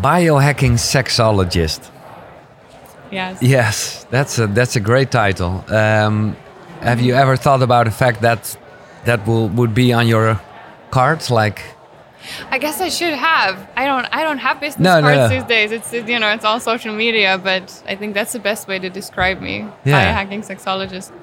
Biohacking sexologist. Yes. Yes, that's a great title. Have you ever thought about the fact that would be on your cards? Like, I guess I should have. I don't have business No, cards no. these days. It's all social media, but I think that's the best way to describe me. Yeah. Biohacking sexologist.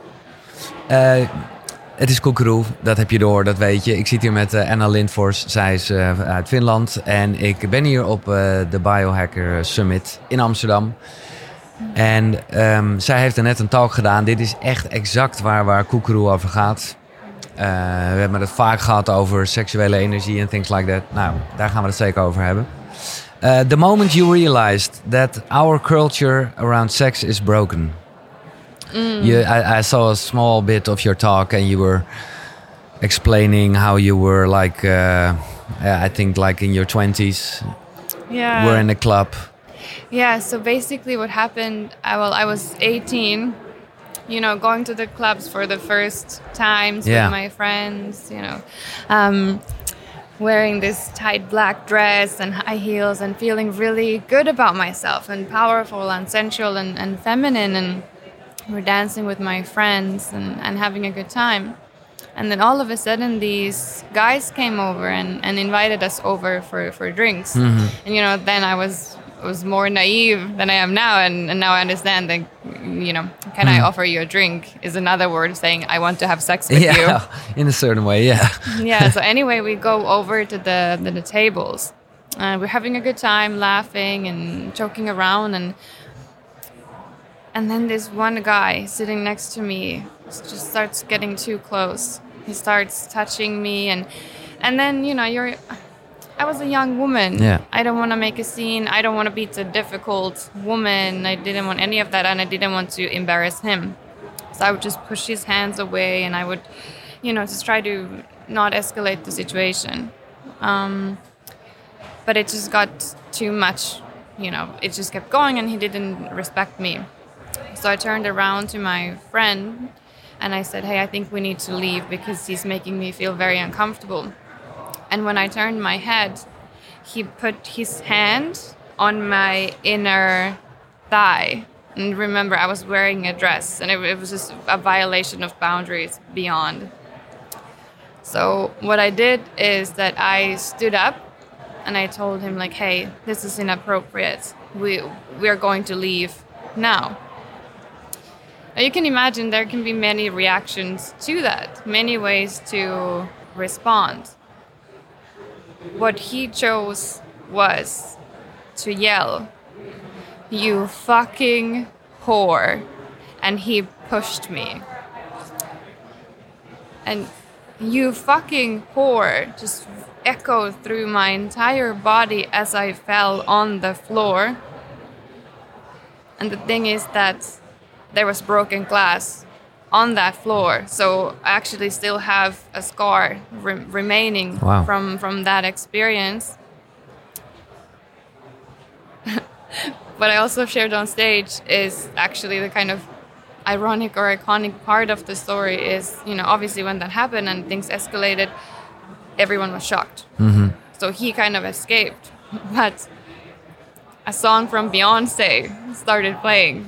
het is Koekeroe, dat heb je door, dat weet je. Ik zit hier met Anna Lindfors, zij is uit Finland. En ik ben hier op de Biohacker Summit in Amsterdam. En zij heeft er net een talk gedaan. Dit is echt exact waar Koekeroe over gaat. We hebben het vaak gehad over seksuele energie en things like that. Nou, daar gaan we het zeker over hebben. The moment you realized that our culture around sex is broken. I saw a small bit of your talk and you were explaining how you were like, I think like in your 20s. Yeah. Were in a club. Yeah, so basically what happened, I was 18, going to the clubs for the first times with my friends, wearing this tight black dress and high heels and feeling really good about myself and powerful and sensual and feminine, and we're dancing with my friends and having a good time. And then all of a sudden these guys came over and invited us over for drinks. Mm-hmm. And then I was more naive than I am now, and now I understand that can I offer you a drink is another word saying I want to have sex with you. In a certain way, yeah. Yeah, so anyway we go over to the tables. We're having a good time, laughing and joking around, and then this one guy sitting next to me just starts getting too close. He starts touching me, and then I was a young woman. Yeah. I don't want to make a scene. I don't want to be a difficult woman. I didn't want any of that, and I didn't want to embarrass him. So I would just push his hands away, and I would, just try to not escalate the situation. But it just got too much. It just kept going, and he didn't respect me. So I turned around to my friend, and I said, "Hey, I think we need to leave because he's making me feel very uncomfortable." And when I turned my head, he put his hand on my inner thigh. And remember, I was wearing a dress, and it was just a violation of boundaries beyond. So what I did is that I stood up, and I told him, like, "Hey, this is inappropriate. We are going to leave now." Now you can imagine there can be many reactions to that, many ways to respond. What he chose was to yell, "You fucking whore," and he pushed me. And "you fucking whore" just echoed through my entire body as I fell on the floor. And the thing is that there was broken glass on that floor, so I actually still have a scar remaining from that experience. What I also shared on stage is actually the kind of ironic or iconic part of the story is, obviously when that happened and things escalated, everyone was shocked. Mm-hmm. So he kind of escaped, but a song from Beyonce started playing,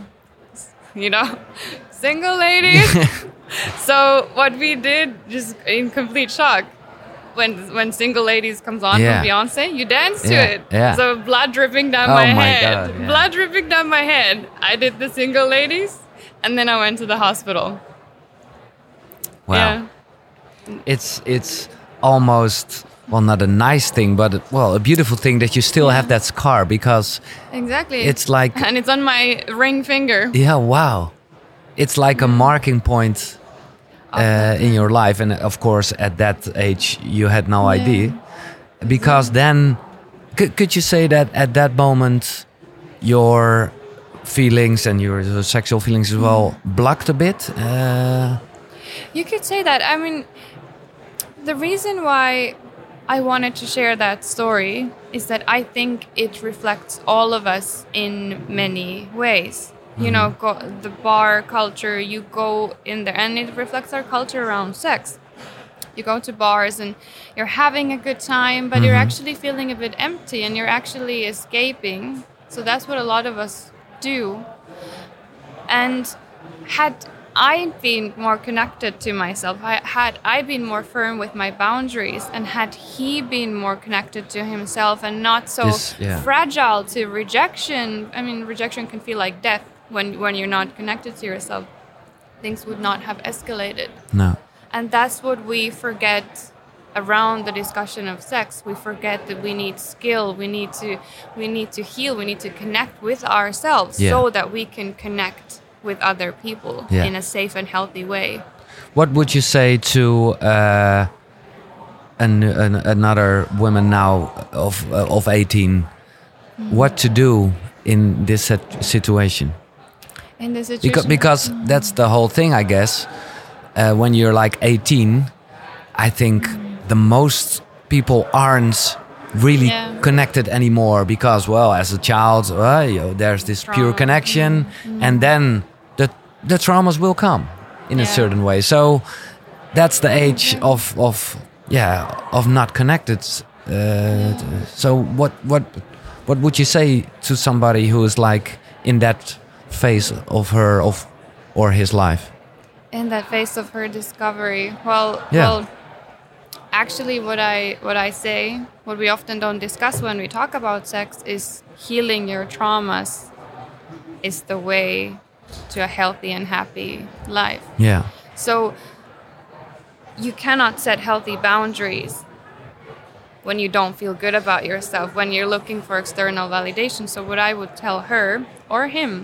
single ladies. So what we did, just in complete shock, when Single Ladies comes on from Beyonce, you dance to it. Yeah. So blood dripping down my head. God, yeah. Blood dripping down my head. I did the Single Ladies, and then I went to the hospital. Wow. Yeah. It's almost, well, not a nice thing, but a beautiful thing that you still have that scar, because exactly, it's like, and it's on my ring finger. Yeah, wow. It's like a marking point in your life, and of course at that age you had no idea, because then could you say that at that moment your feelings and your sexual feelings as well blocked a bit? You could say that. I mean, the reason why I wanted to share that story is that I think it reflects all of us in many ways. The bar culture, you go in there, and it reflects our culture around sex. You go to bars and you're having a good time, but you're actually feeling a bit empty and you're actually escaping. So that's what a lot of us do. And had I been more connected to myself, had I been more firm with my boundaries, and had he been more connected to himself and not so fragile to rejection. I mean, rejection can feel like death when you're not connected to yourself. Things would not have escalated. No. And that's what we forget around the discussion of sex. We forget that we need skill, we need to heal, we need to connect with ourselves so that we can connect with other people in a safe and healthy way. What would you say to another woman now of 18? What to do in this situation? In this situation, because that's the whole thing, I guess. When you're like 18, I think the most people aren't really connected anymore because, well, as a child, there's this pure connection, and then the traumas will come in a certain way. So that's the age of not connected. So what would you say to somebody who is like in that phase of her or his life? In that phase of her discovery, well, actually, what I say, what we often don't discuss when we talk about sex, is healing your traumas is the way to a healthy and happy life. Yeah. So you cannot set healthy boundaries when you don't feel good about yourself, when you're looking for external validation. So what I would tell her or him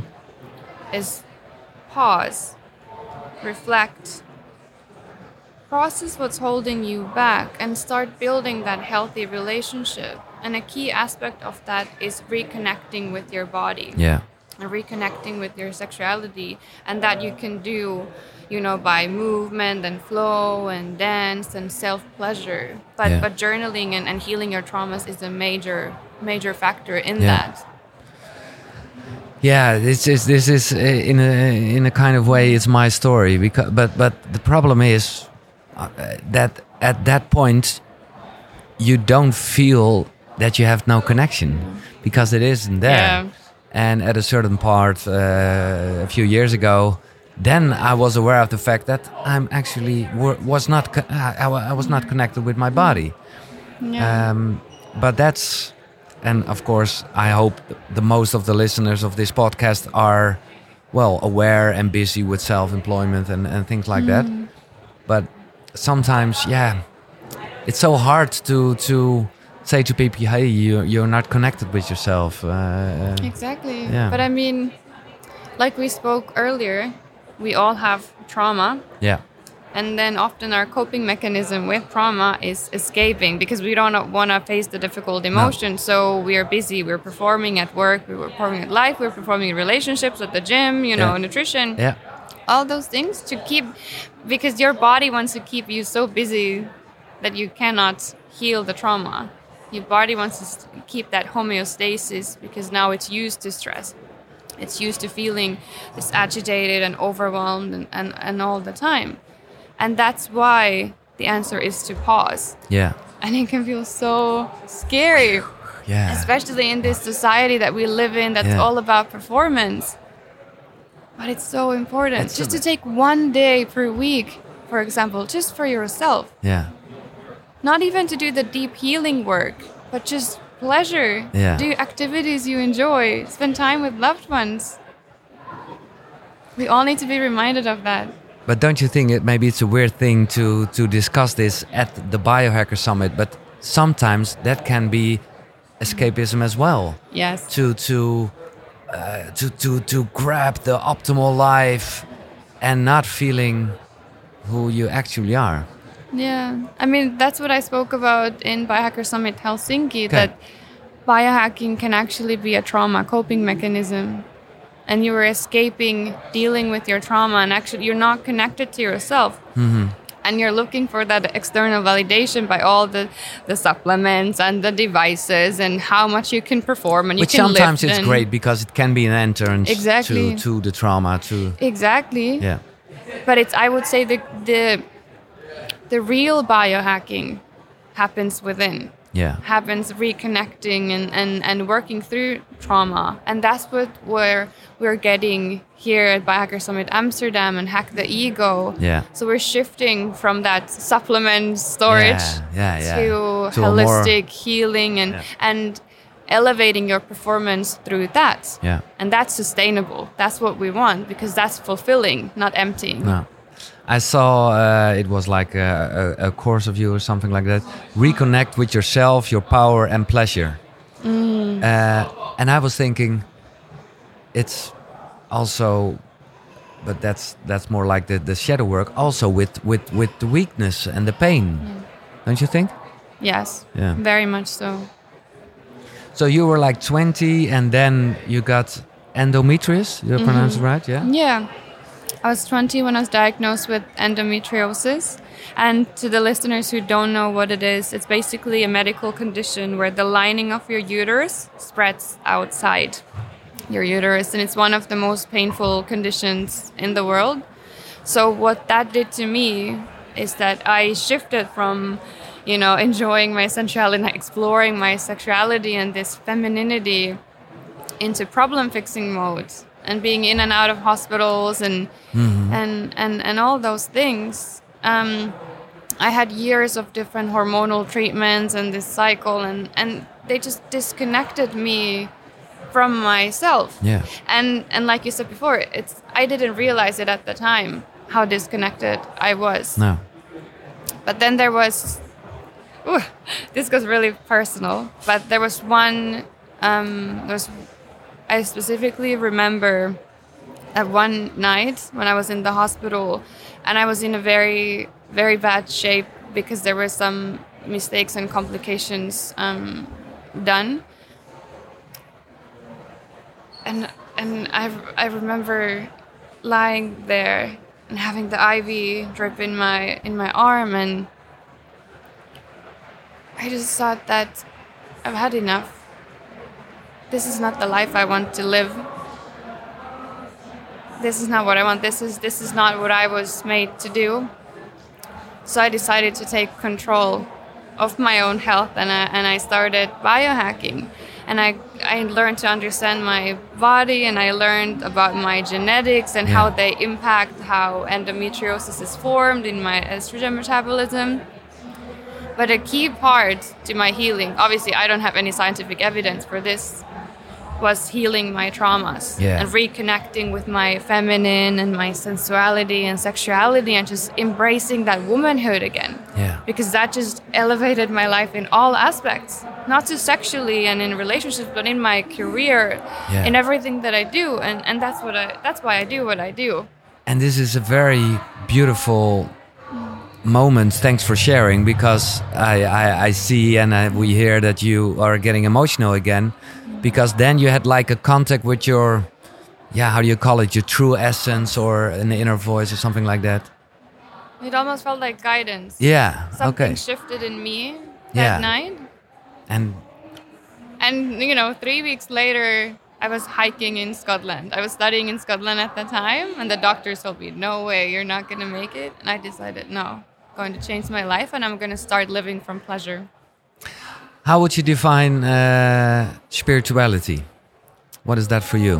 is pause, reflect, process what's holding you back, and start building that healthy relationship. And a key aspect of that is reconnecting with your body. Yeah. And reconnecting with your sexuality, and that you can do, by movement and flow and dance and self-pleasure. But journaling and healing your traumas is a major factor in that. Yeah, this is in a kind of way it's my story, because but the problem is that at that point you don't feel that you have no connection because it isn't there. Yeah. And at a certain part, a few years ago, then I was aware of the fact that I'm actually was not connected with my body. Yeah. But that's, and of course, I hope the most of the listeners of this podcast are well aware and busy with self-employment and things like that. But sometimes, it's so hard to say to people, hey, you're not connected with yourself. Exactly. Yeah. But I mean, like we spoke earlier, we all have trauma. Yeah. And then often our coping mechanism with trauma is escaping because we don't want to face the difficult emotion. No. So we are busy. We're performing at work. We're performing at life. We're performing in relationships, at the gym, nutrition. Yeah. All those things to keep, because your body wants to keep you so busy that you cannot heal the trauma. Your body wants to keep that homeostasis because now it's used to stress. It's used to feeling this agitated and overwhelmed and all the time. And that's why the answer is to pause. Yeah. And it can feel so scary. Yeah. Especially in this society that we live in that's all about performance. But it's so important. Just to take 1 day per week, for example, just for yourself. Yeah. Not even to do the deep healing work, but just pleasure. Yeah. Do activities you enjoy. Spend time with loved ones. We all need to be reminded of that. But don't you think maybe it's a weird thing to discuss this at the Biohacker Summit? But sometimes that can be escapism as well. Yes. To grab the optimal life and not feeling who you actually are. Yeah, I mean, that's what I spoke about in Biohacker Summit Helsinki, that biohacking can actually be a trauma coping mechanism. And you are escaping dealing with your trauma, and actually you're not connected to yourself. Mm-hmm. And you're looking for that external validation by all the supplements and the devices and how much you can perform and you can lift. But sometimes it's great because it can be an entrance exactly. to the trauma. Exactly. Yeah. But it's, I would say, the the real biohacking happens within. Yeah. Happens reconnecting and working through trauma. And that's where we're getting here at Biohacker Summit Amsterdam and Hack the Ego. Yeah. So we're shifting from that supplement storage to a holistic healing and elevating your performance through that. Yeah. And that's sustainable. That's what we want, because that's fulfilling, not emptying. No. I saw it was like a course of you or something like that. Reconnect with yourself, your power and pleasure. And I was thinking, it's also, but that's more like the shadow work. Also with the weakness and the pain, don't you think? Yes. Yeah. Very much so. So you were like 20, and then you got endometriosis. Did I pronounce it right? Yeah. Yeah. I was 20 when I was diagnosed with endometriosis. And to the listeners who don't know what it is, it's basically a medical condition where the lining of your uterus spreads outside your uterus. And it's one of the most painful conditions in the world. So what that did to me is that I shifted from, enjoying my sensuality and exploring my sexuality and this femininity into problem-fixing mode. And being in and out of hospitals and all those things. I had years of different hormonal treatments and this cycle, and they just disconnected me from myself. Yeah. And like you said before, I didn't realize it at the time how disconnected I was. No. But then there was, this goes really personal. But there was one. I specifically remember that one night when I was in the hospital and I was in a very, very bad shape because there were some mistakes and complications done. And I remember lying there and having the IV drip in my arm, and I just thought that I've had enough. This is not the life I want to live. This is not what I want. This is not what I was made to do. So I decided to take control of my own health, and I started biohacking. And I learned to understand my body, and I learned about my genetics and how they impact how endometriosis is formed in my estrogen metabolism. But a key part to my healing, obviously I don't have any scientific evidence for this, was healing my traumas and reconnecting with my feminine and my sensuality and sexuality and just embracing that womanhood again. Yeah. Because that just elevated my life in all aspects, not just sexually and in relationships, but in my career, in everything that I do. And that's why I do what I do. And this is a very beautiful moment. Thanks for sharing, because I see and we hear that you are getting emotional again. Because then you had like a contact with your, how do you call it, your true essence or an inner voice or something like that? It almost felt like guidance. Yeah, Something shifted in me that night. And 3 weeks later, I was hiking in Scotland. I was studying in Scotland at the time, and the doctors told me, no way, you're not going to make it. And I decided, no, I'm going to change my life, and I'm going to start living from pleasure. How would you define spirituality? What is that for you?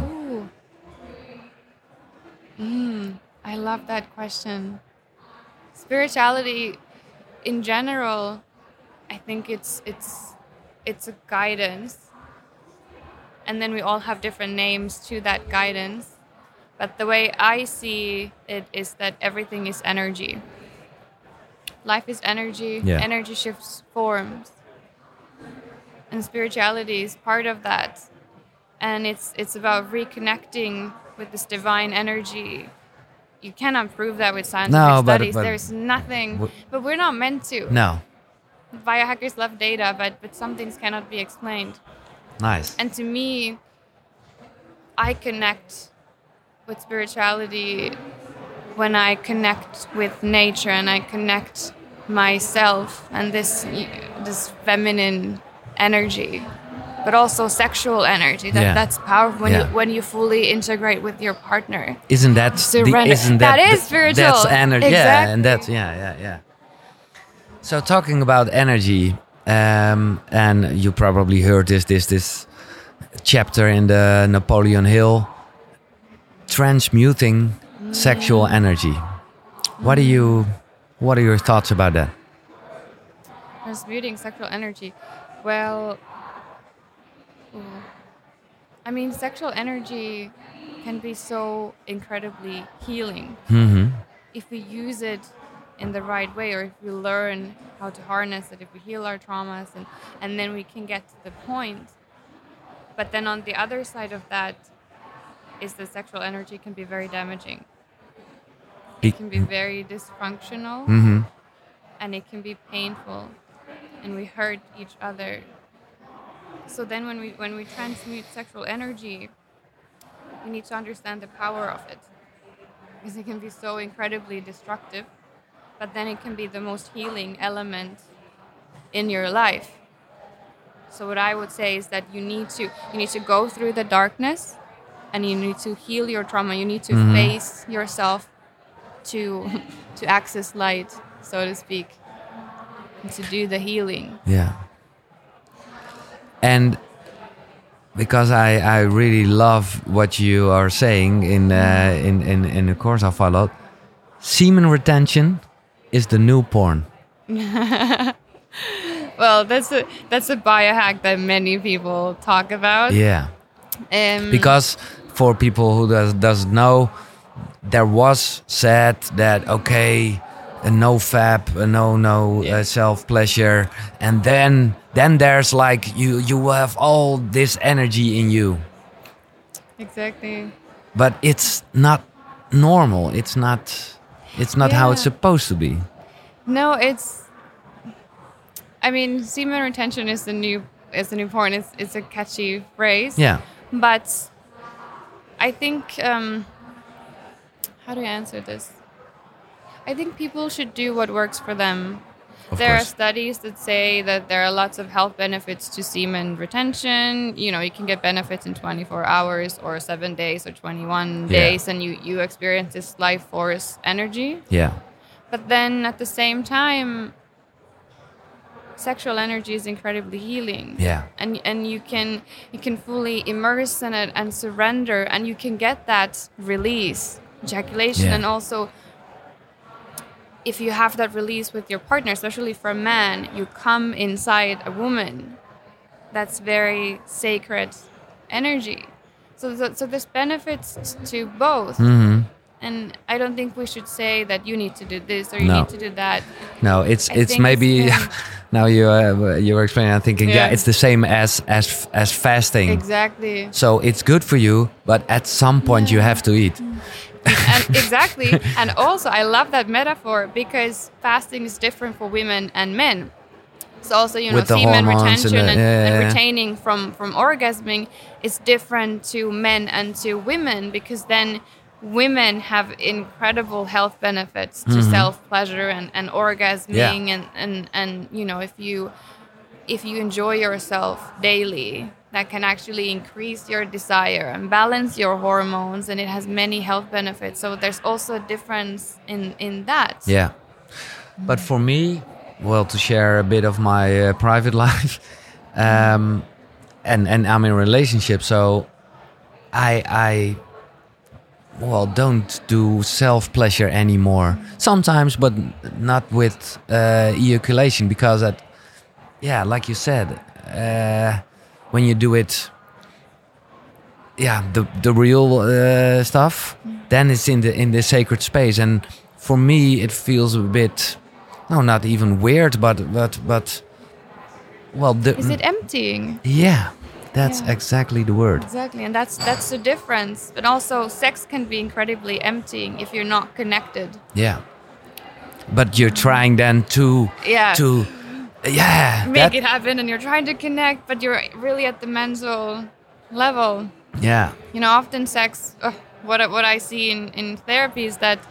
I love that question. Spirituality, in general, I think it's a guidance, and then we all have different names to that guidance. But the way I see it is that everything is energy. Life is energy. Energy shifts forms. And spirituality is part of that. And it's about reconnecting with this divine energy. You cannot prove that with scientific studies. There's nothing. But we're not meant to. No. Biohackers love data, but some things cannot be explained. Nice. And to me, I connect with spirituality when I connect with nature and I connect myself and this feminine energy, but also sexual energy. That's powerful when you fully integrate with your partner. Isn't that that is spiritual? That's energy. Exactly. And that's yeah. So talking about energy, and you probably heard this chapter in the Napoleon Hill, transmuting sexual energy. What are your thoughts about that? Transmuting sexual energy. Well, I mean, sexual energy can be so incredibly healing if we use it in the right way, or if we learn how to harness it, if we heal our traumas, and then we can get to the point. But then on the other side of that is the sexual energy can be very damaging. It can be very dysfunctional, and it can be painful, and we hurt each other. So then when we transmute sexual energy, we need to understand the power of it, because it can be so incredibly destructive, but then it can be the most healing element in your life. So what I would say is that you need to go through the darkness, and you need to heal your trauma. You need to face yourself to access light, so to speak, and to do the healing. Yeah. And because I really love what you are saying in the course I followed, semen retention is the new porn. Well, that's a biohack that many people talk about. Yeah. Because for people who doesn't know, there was said that okay, no fap, no self pleasure, and then there's like you will have all this energy in you. Exactly. But it's not normal. It's not how it's supposed to be. No, I mean, semen retention is the new porn. It's a catchy phrase. Yeah. But I think how do I answer this? I think people should do what works for them. There are studies that say that there are lots of health benefits to semen retention. You know, you can get benefits in 24 hours or 7 days or 21 days, and you experience this life force energy. Yeah. But then at the same time, sexual energy is incredibly healing. Yeah. And you can fully immerse in it and surrender, and you can get that release, ejaculation, and also if you have that release with your partner, especially for a man, you come inside a woman. That's very sacred energy. So there's benefits to both. And I don't think we should say that you need to do this or you need to do that. No, it's maybe now you're explaining. I'm thinking, it's the same as fasting. Exactly. So it's good for you, but at some point you have to eat. And exactly. And also, I love that metaphor because fasting is different for women and men. So also, semen retention and retaining from orgasming is different to men and to women, because then women have incredible health benefits to self-pleasure and orgasming. And if you enjoy yourself daily, that can actually increase your desire and balance your hormones, and it has many health benefits. So there's also a difference in that. Yeah. But for me, well, to share a bit of my private life, and I'm in a relationship, so I don't do self-pleasure anymore. Sometimes, but not with ejaculation, because like you said, when you do it, the real stuff, then it's in the sacred space. And for me, it feels a bit, not even weird, but is it emptying? Yeah, that's exactly the word. Exactly, and that's the difference. But also, sex can be incredibly emptying if you're not connected. Yeah, but you're trying then to make it happen, and you're trying to connect, but you're really at the mental level. Yeah. Often sex, what I see in therapy is that,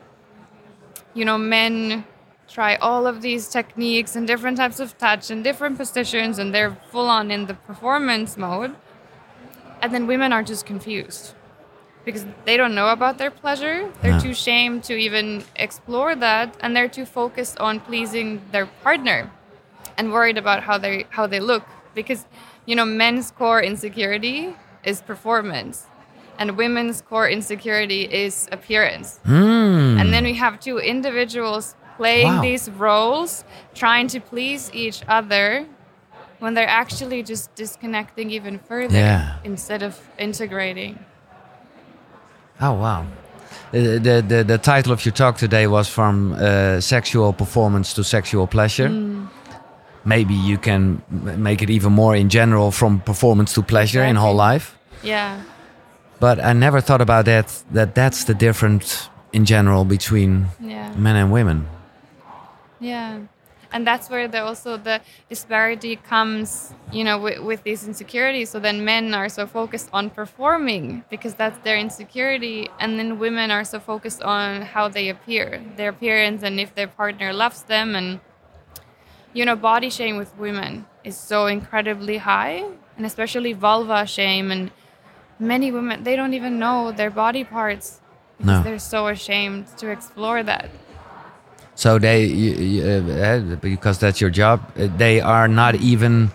men try all of these techniques and different types of touch and different positions, and they're full on in the performance mode. And then women are just confused. because they don't know about their pleasure. They're No. too ashamed to even explore that, and they're too focused on pleasing their partner and worried about how they look, because men's core insecurity is performance and women's core insecurity is appearance. And then we have two individuals playing Wow. these roles, trying to please each other, when they're actually just disconnecting even further Yeah. instead of integrating. Oh wow. The title of your talk today was from sexual performance to sexual pleasure. Maybe you can make it even more in general, from performance to pleasure in whole Exactly. life. Yeah. But I never thought about that's the difference in general between Yeah. men and women. Yeah, and that's where also the disparity comes, with these insecurities. So then men are so focused on performing because that's their insecurity, and then women are so focused on how they appear, their appearance, and if their partner loves them. And body shame with women is so incredibly high, and especially vulva shame. And many women, they don't even know their body parts because No. they're so ashamed to explore that. So because that's your job, they are not even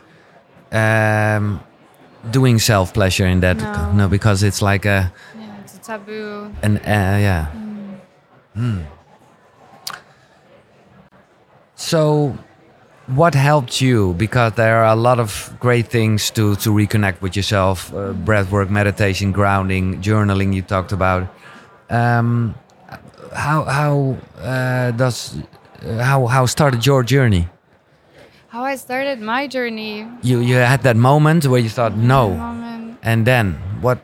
doing self pleasure in that. No. Because it's like Yeah, it's a taboo. yeah. So, what helped you? Because there are a lot of great things to reconnect with yourself: breath work, meditation, grounding, journaling. You talked about. How started your journey? How I started my journey. You had that moment where you thought no, Moment. and then what?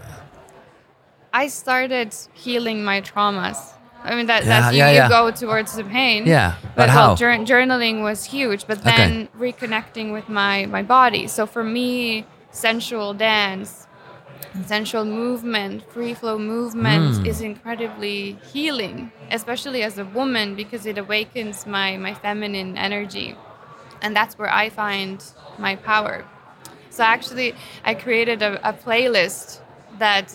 I started healing my traumas. I mean, Yeah, that's you, yeah, you yeah. go towards the pain. Yeah, but well, how? Journaling was huge, but then reconnecting with my body. So for me, sensual dance, sensual movement, free flow movement is incredibly healing, especially as a woman, because it awakens my feminine energy. And that's where I find my power. So actually, I created a playlist that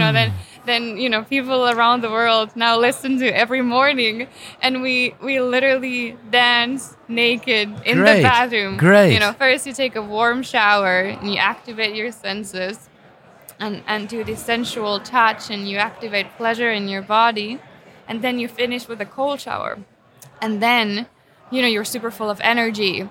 then people around the world now listen to every morning, and we literally dance naked in the Great, bathroom. great. First you take a warm shower and you activate your senses, and do the sensual touch, and you activate pleasure in your body, and then you finish with a cold shower, and then you're super full of energy,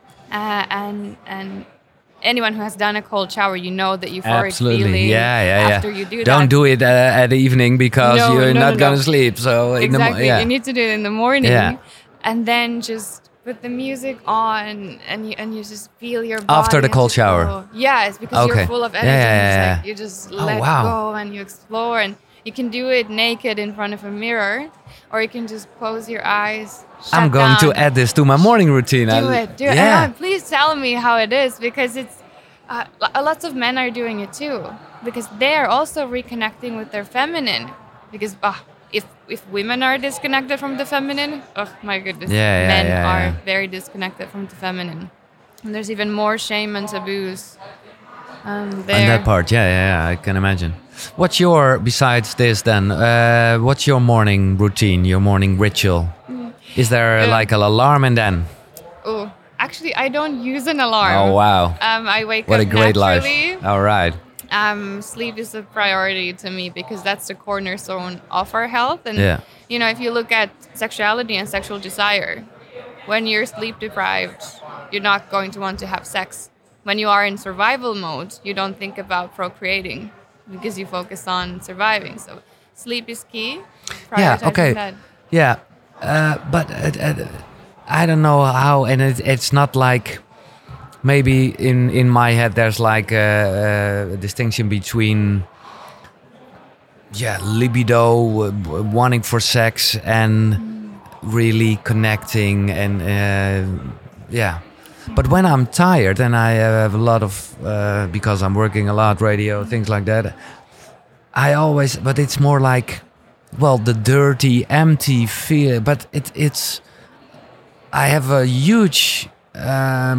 and anyone who has done a cold shower, that euphoric Absolutely, feeling yeah. after you do that. Don't do it at the evening because No, you're no, not no, gonna no. sleep. So Exactly, yeah. you need to do it in the morning, Yeah. and then just put the music on, and you just feel your body After the and cold just shower? go. Yeah, it's because Okay. you're full of Yeah, energy. yeah, And yeah, it's like you just Oh, let wow. go and you explore, and you can do it naked in front of a mirror, or you can just close your eyes. I'm shut going to down. add this to my morning routine. Do it. Yeah. And please tell me how it is, because it's lots of men are doing it too, because they are also reconnecting with their feminine. Because if women are disconnected from the feminine, oh my goodness, men are very disconnected from the feminine, and there's even more shame and taboos there. On that part, yeah, I can imagine. What's your, besides this then, what's your morning routine, your morning ritual? Is there like an alarm and then? Oh, actually, I don't use an alarm. Oh, wow. I wake What up a great life. naturally. All right. Sleep is a priority to me, because that's the cornerstone of our health. And, Yeah. if you look at sexuality and sexual desire, when you're sleep deprived, you're not going to want to have sex. When you are in survival mode, you don't think about procreating, because you focus on surviving. So sleep is key. Yeah, Prioritizing okay. that. Yeah, but I don't know how, and it's not like, maybe in my head there's like a distinction between libido, wanting for sex, and really connecting, and but when I'm tired and I have a lot of because I'm working a lot, radio, things like that, but it's more like, the dirty, empty feel, but it's I have a huge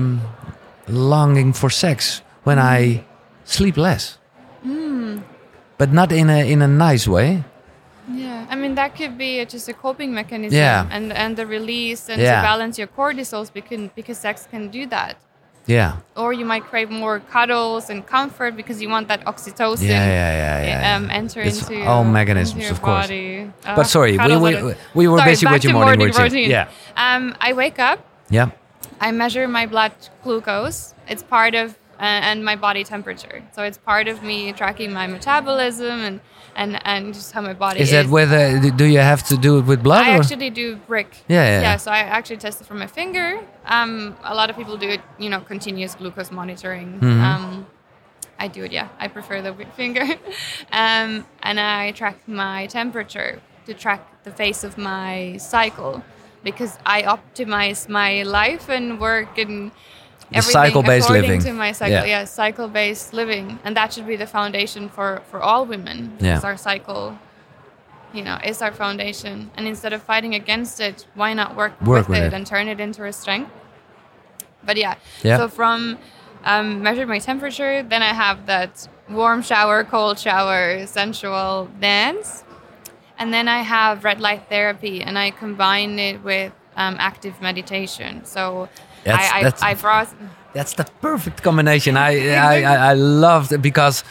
longing for sex when I sleep less. but not in a nice way. Yeah, I mean that could be just a coping mechanism, Yeah. and the release and Yeah. to balance your cortisols because sex can do that. Yeah. Or you might crave more cuddles and comfort because you want that oxytocin Yeah. enter It's into all mechanisms, into your of course. body. But sorry, cuddles we were Sorry, busy back with your to morning routine. Yeah. I wake up. Yeah. I measure my blood glucose. It's part of and my body temperature. So it's part of me tracking my metabolism and just how my body is. Is that with? Do you have to do it with blood? I or? actually do brick. Yeah. So I actually test it from my finger. A lot of people do it, continuous glucose monitoring. Mm-hmm. I do it, yeah. I prefer the finger. And I track my temperature to track the phase of my cycle because I optimize my life and work and everything cycle-based according living. to my cycle. Yeah. Yeah, cycle-based living. And that should be the foundation for all women. Yeah. Because our cycle, is our foundation. And instead of fighting against it, why not work with it and turn it into a strength? But yeah. So from measure my temperature, then I have that warm shower, cold shower, sensual dance. And then I have red light therapy, and I combine it with active meditation. So that's the perfect combination. I loved it because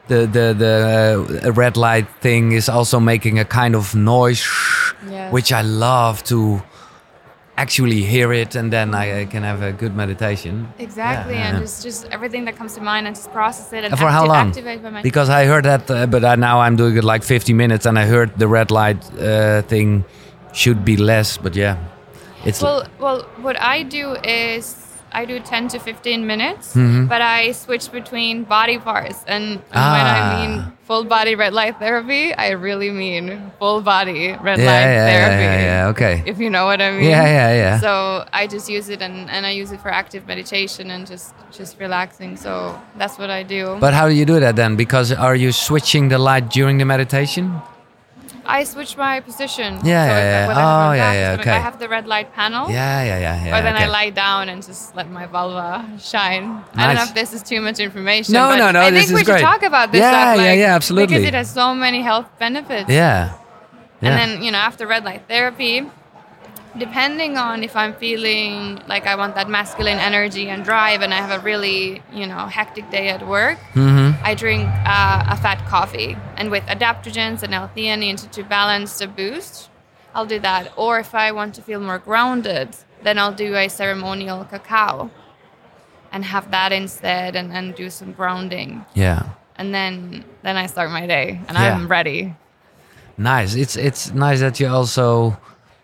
the red light thing is also making a kind of noise, yes. which I love to actually hear it, and then I can have a good meditation. Exactly, and just everything that comes to mind and just process it and for how long? Activate my Because I heard that, but now I'm doing it like 50 minutes, and I heard the red light thing should be less, but yeah. It's well, what I do is I do 10 to 15 minutes, Mm-hmm. but I switch between body parts. And when I mean full body red light therapy, I really mean full body red light therapy. Yeah, okay. If you know what I mean. Yeah. So I just use it and I use it for active meditation and just relaxing. So that's what I do. But how do you do that then? Because are you switching the light during the meditation? I switch my position. Yeah. Okay. I have the red light panel. Yeah. Or then okay. I lie down and just let my vulva shine. Nice. I don't know if this is too much information. No, but I think this is we great. should talk about this Yeah, stuff. yeah, absolutely. Because it has so many health benefits. Yeah. And then, after red light therapy, depending on if I'm feeling like I want that masculine energy and drive and I have a really, hectic day at work, I drink a fat coffee. And with adaptogens and L-theanine to balance the boost, I'll do that. Or if I want to feel more grounded, then I'll do a ceremonial cacao and have that instead and do some grounding. Yeah. And then I start my day and I'm ready. Nice. It's nice that you also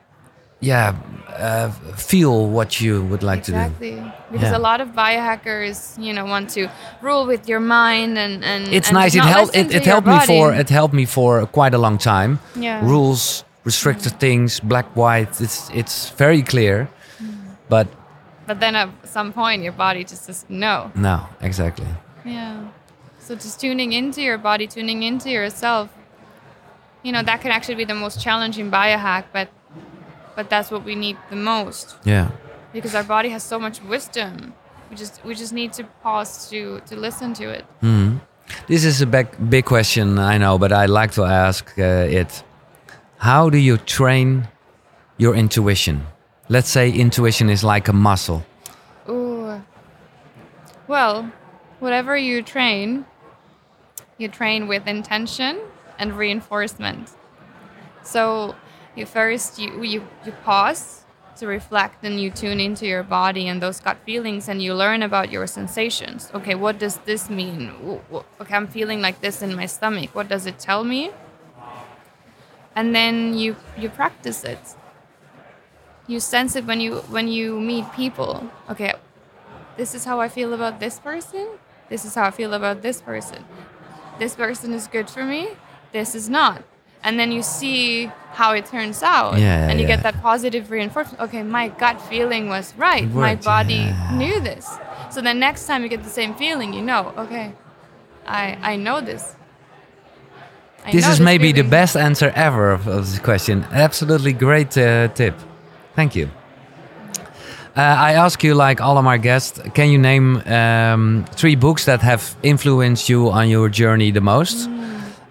feel what you would like to do. Exactly. Because a lot of biohackers, want to rule with your mind and it's and nice. It helped me for quite a long time. Yeah. Rules, restricted things, black, white. It's very clear. But then at some point your body just says no. No, exactly. Yeah. So just tuning into your body, tuning into yourself, that can actually be the most challenging biohack, but that's what we need the most. Yeah. Because our body has so much wisdom. We just need to pause to listen to it. Mm-hmm. This is a big question, I know, but I like to ask it. How do you train your intuition? Let's say intuition is like a muscle. Ooh. Well, whatever you train with intention and reinforcement. So you pause to reflect and you tune into your body and those gut feelings and you learn about your sensations. Okay, what does this mean? Okay, I'm feeling like this in my stomach. What does it tell me? And then you practice it. You sense it when you meet people. Okay, this is how I feel about this person. This is how I feel about this person. This person is good for me. This is not. And then you see how it turns out. And you get that positive reinforcement. Okay, my gut feeling was right. My body knew this. So the next time you get the same feeling, okay, I know this. This is maybe the best answer ever of this question. Absolutely great tip. Thank you. I ask you, like all of my guests, can you name 3 books that have influenced you on your journey the most?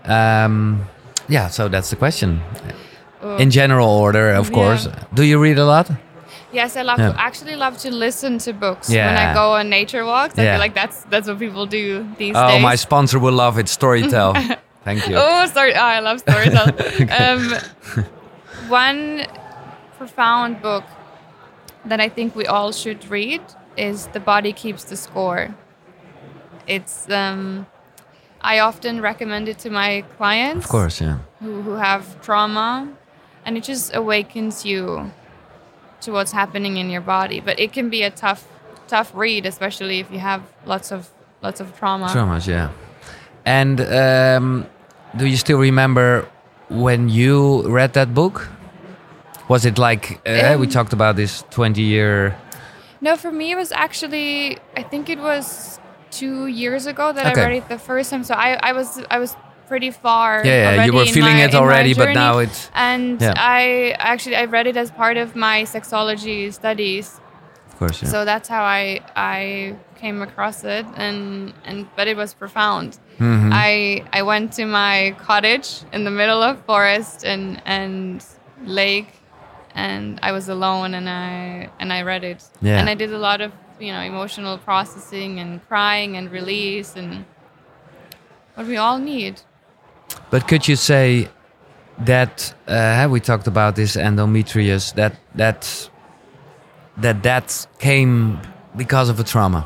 Yeah, so that's the question. In general order, of course. Do you read a lot? Yes, I actually love to listen to books Yeah. when I go on nature walks. I Yeah. feel like that's what people do these Oh, days. my sponsor will love it. Storytel. Thank you. Oh, sorry. Oh, I love Storytel. One profound book that I think we all should read is The Body Keeps the Score. It's I often recommend it to my clients. Of course, yeah. Who have trauma, and it just awakens you to what's happening in your body. But it can be a tough read, especially if you have lots of trauma. Traumas, yeah. And do you still remember when you read that book? Was it like we talked about this 20-year? No, for me it was actually, I think it was 2 years ago that Okay. I read it the first time. So I was pretty far. Yeah, already you were in feeling my- it in my already, but journey. now it's And Yeah. I read it as part of my sexology studies. of course, yeah. So that's how I came across it, and but it was profound. Mhm. I went to my cottage in the middle of forest and lake, and I was alone, and I read it. Yeah. And I did a lot of emotional processing and crying and release and what we all need. But could you say that we talked about this endometrius that came because of a trauma?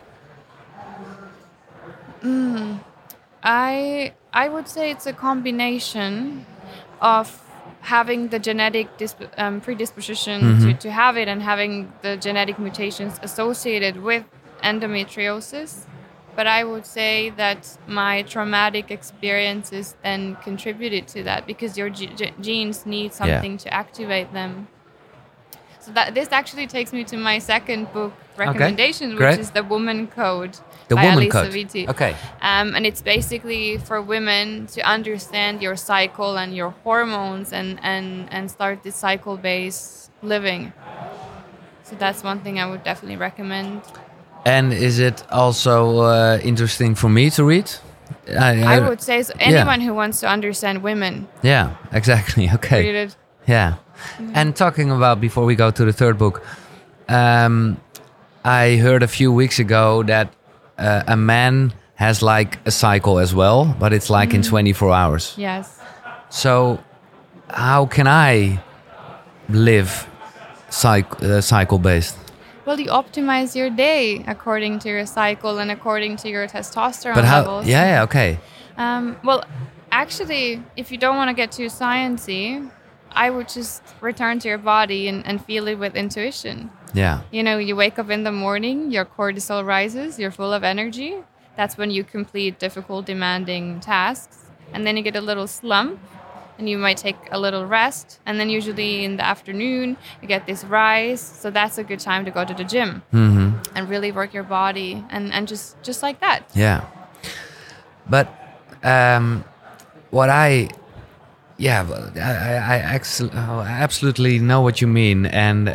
I would say it's a combination of having the genetic predisposition to have it and having the genetic mutations associated with endometriosis. But I would say that my traumatic experiences then contributed to that because your genes need something to activate them. So this actually takes me to my second book recommendation, which great. is The Woman Code The by Woman Alisa Code. Vitti. Okay. And it's basically for women to understand your cycle and your hormones and start this cycle-based living. So that's one thing I would definitely recommend. And is it also interesting for me to read? I would say so. Anyone who wants to understand women, Yeah, exactly. Okay. read it. Yeah. And talking about, before we go to the third book, I heard a few weeks ago that a man has like a cycle as well, but it's like in 24 hours. Yes. So how can I live cycle-based? Well, you optimize your day according to your cycle and according to your testosterone But how? levels. Yeah, okay. Well, actually, if you don't want to get too sciencey, I would just return to your body and feel it with intuition. Yeah. You wake up in the morning, your cortisol rises, you're full of energy. That's when you complete difficult, demanding tasks. And then you get a little slump, and you might take a little rest. And then usually in the afternoon, you get this rise. So that's a good time to go to the gym and really work your body and just like that. Yeah. But what I absolutely know what you mean. And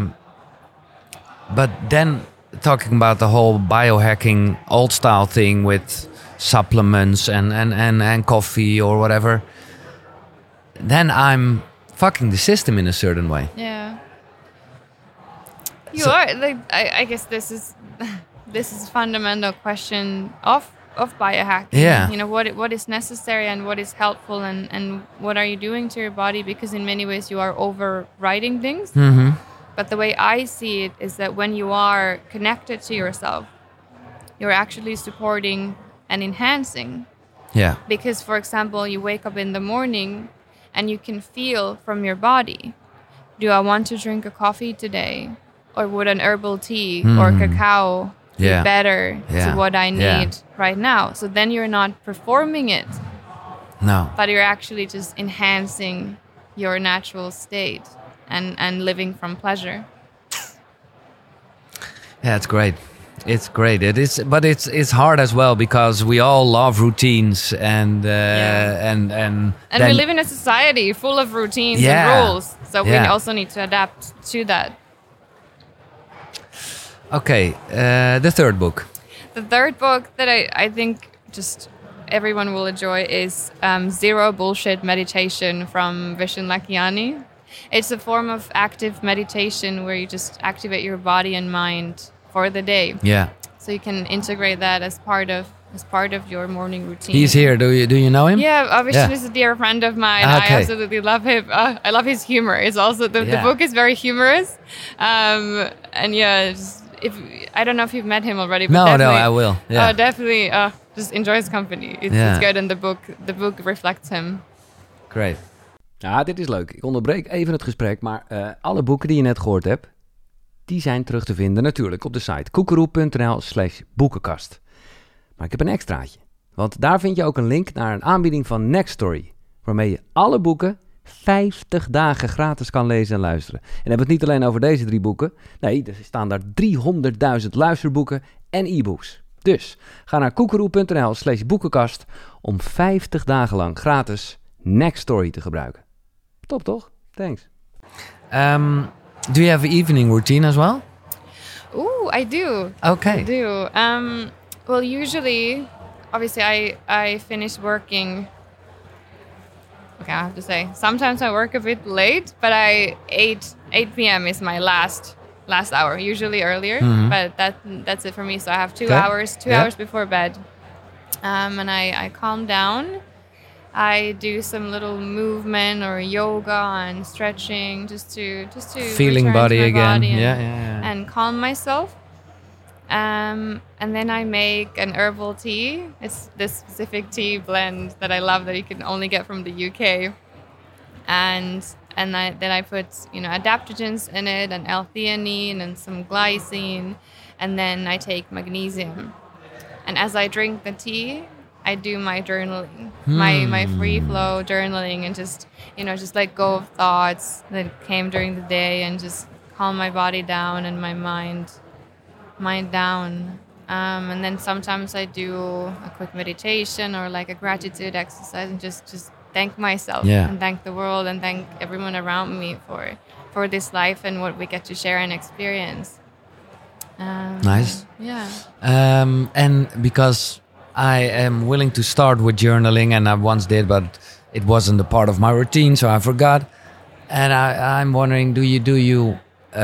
but then talking about the whole biohacking old style thing with supplements and coffee or whatever, then I'm fucking the system in a certain way. Yeah. You are like I guess this is a fundamental question of biohacking. Yeah. What is necessary and what is helpful and what are you doing to your body, because in many ways you are overriding things. But the way I see it is that when you are connected to yourself, you're actually supporting and enhancing. Yeah. Because, for example, you wake up in the morning and you can feel from your body, do I want to drink a coffee today? Or would an herbal tea or cacao be better to what I need right now? So then you're not performing it, No. but you're actually just enhancing your natural state and living from pleasure. Yeah, it's great. It's great. It is, but it's hard as well because we all love routines and And then we live in a society full of routines Yeah. and rules. So we Yeah. also need to adapt to that. Okay, the third book. The third book that I think just everyone will enjoy is Zero Bullshit Meditation from Vishen Lakhiani. It's a form of active meditation where you just activate your body and mind for the day. Yeah. So you can integrate that as part of your morning routine. He's here. Do you know him? Yeah, Vishen is a dear friend of mine. Okay. I absolutely love him. I love his humor. It's also the book is very humorous. And yeah, if I don't know if you've met him already. But No, I will. Yeah. Definitely. Just enjoy his company. It's good, and the book reflects him. Great. Ja, dit is leuk. Ik onderbreek even het gesprek, maar alle boeken die je net gehoord hebt, die zijn terug te vinden natuurlijk op de site koekeroe.nl/boekenkast. Maar ik heb een extraatje, want daar vind je ook een link naar een aanbieding van Nextory, waarmee je alle boeken 50 dagen gratis kan lezen en luisteren. En hebben we het niet alleen over deze 3 boeken. Nee, er staan daar 300.000 luisterboeken en e-books. Dus ga naar koekeroe.nl/boekenkast om 50 dagen lang gratis Nextory te gebruiken. Top, toch? Thanks. Do you have an evening routine as well? Ooh, I do. Okay. I do. Well, usually, obviously, I finish working. Okay, I have to say, sometimes I work a bit late, but 8 p.m. is my last hour. Usually earlier, but that's it for me. So I have 2 hours before bed, and I calm down. I do some little movement or yoga and stretching just to feeling body again, body and calm myself. And then I make an herbal tea. It's this specific tea blend that I love that you can only get from the UK. And then I put adaptogens in it and L-theanine and some glycine, and then I take magnesium. And as I drink the tea, I do my journaling, my free flow journaling, and just let go of thoughts that came during the day, and just calm my body down and my mind down. And then sometimes I do a quick meditation or like a gratitude exercise, and just thank myself and thank the world and thank everyone around me for this life and what we get to share and experience. Nice. Yeah. And because I am willing to start with journaling, and I once did, but it wasn't a part of my routine, so I forgot. And I'm wondering, do you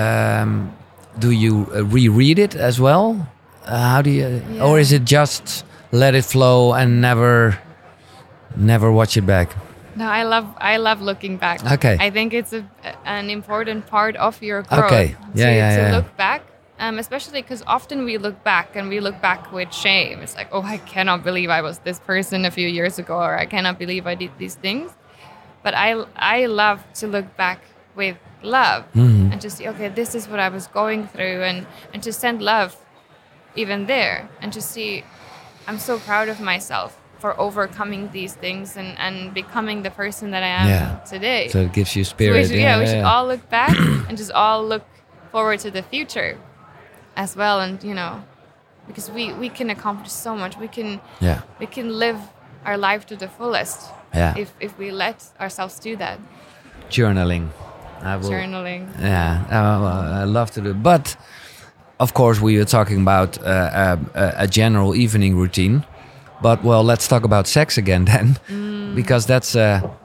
reread it as well? How do you, or is it just let it flow and never watch it back? No, I love looking back. Okay. I think it's an important part of your growth. Okay. To look back. Especially because often we look back with shame. It's like, oh, I cannot believe I was this person a few years ago, or I cannot believe I did these things. But I love to look back with love and just see, okay, this is what I was going through, and to send love even there, and to see, I'm so proud of myself for overcoming these things and becoming the person that I am today. So it gives you spirit. So we should all look back and just all look forward to the future as well, and because we can accomplish so much. We can live our life to the fullest if we let ourselves do that. Journaling. Journaling. I love to do it. But of course we are talking about a general evening routine. But let's talk about sex again then, because that's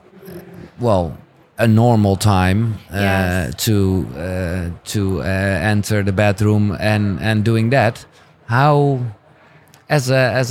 a normal time to enter the bedroom and doing that. How, as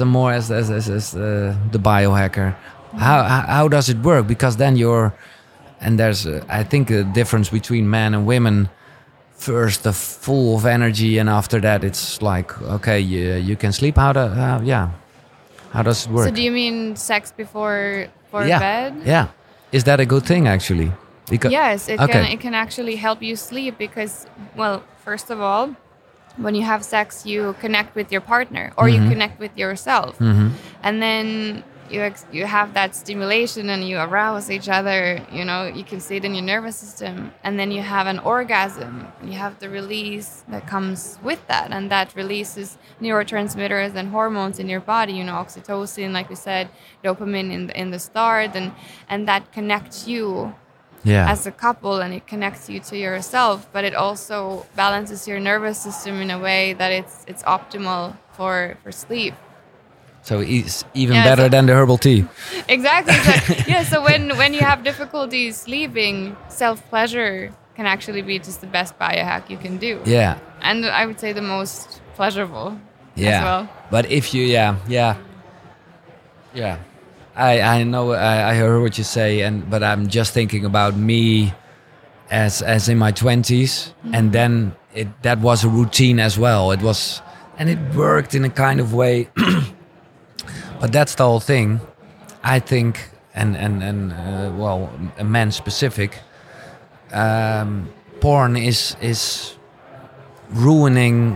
the biohacker, how does it work? Because then there's I think a difference between men and women. First, the full of energy, and after that, it's like, okay, you can sleep. How does it work? So do you mean sex before bed? Yeah. Is that a good thing, actually? Yes, it can actually help you sleep because, first of all, when you have sex, you connect with your partner or you connect with yourself. And then you have that stimulation and you arouse each other, you can see it in your nervous system. And then you have an orgasm. You have the release that comes with that. And that releases neurotransmitters and hormones in your body, oxytocin, like we said, dopamine in the start. And that connects you as a couple, and it connects you to yourself. But it also balances your nervous system in a way that it's optimal for sleep. So it's even Yeah, better so- than the herbal tea. Exactly. Yeah. So when you have difficulties sleeping, self pleasure can actually be just the best biohack you can do. Yeah. And I would say the most pleasurable Yeah. as well. But if you, yeah. I know, I heard what you say, but I'm just thinking about me as in my 20s, and then that was a routine as well. It was, and it worked in a kind of way. But that's the whole thing, I think, and well, a man specific. Porn is ruining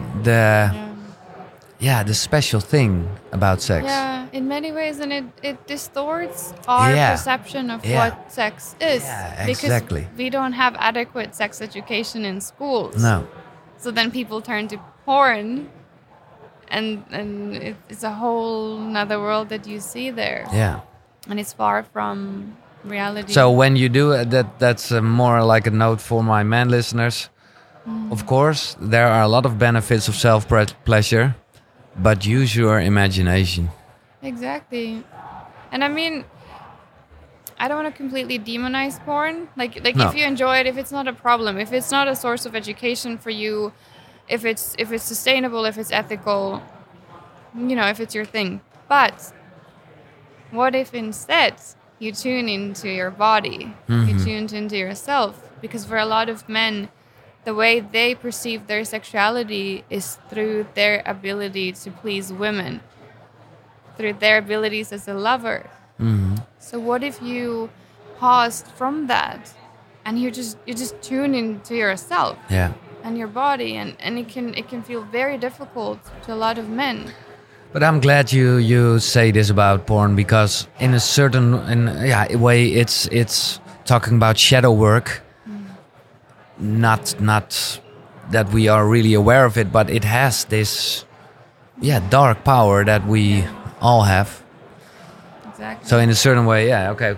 the special thing about sex. Yeah, in many ways, and it distorts our Yeah. perception of Yeah. what sex is. Yeah, Because exactly. we don't have adequate sex education in schools. No. So then people turn to porn, and it's a whole another world that you see there, Yeah. and it's far from reality. So when you do it, that's more like a note for my man listeners. Of course, there are a lot of benefits of self-pleasure, but use your imagination. Exactly. And I mean, I don't want to completely demonize porn. Like No. if you enjoy it, if it's not a problem, if it's not a source of education for you, if it's sustainable, if it's ethical, if it's your thing. But what if instead you tune into your body, you tune into yourself? Because for a lot of men, the way they perceive their sexuality is through their ability to please women, through their abilities as a lover. So what if you paused from that and you just tune into yourself Yeah. and your body, and it can feel very difficult to a lot of men. But I'm glad you say this about porn, because in a certain way it's talking about shadow work. Not that we are really aware of it, but it has this dark power that we all have. Exactly. So in a certain way, okay.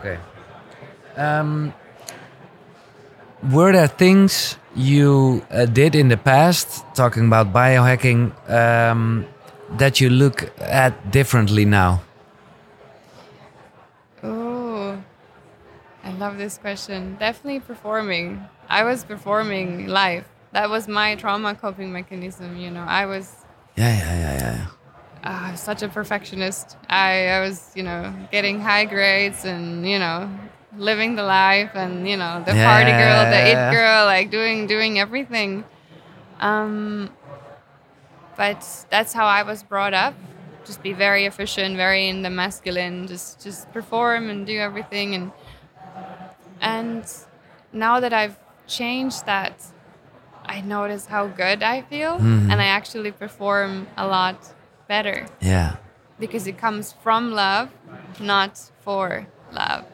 Were there things you did in the past, talking about biohacking, that you look at differently now? Oh, I love this question. Definitely performing. I was performing live. That was my trauma coping mechanism. I was Yeah. such a perfectionist. I was, getting high grades and, living the life and, the party girl, the it girl, like doing everything. But that's how I was brought up. Just be very efficient, very in the masculine, just perform and do everything. And now that I've changed that, I notice how good I feel, and I actually perform a lot better. Yeah. Because it comes from love, not for love.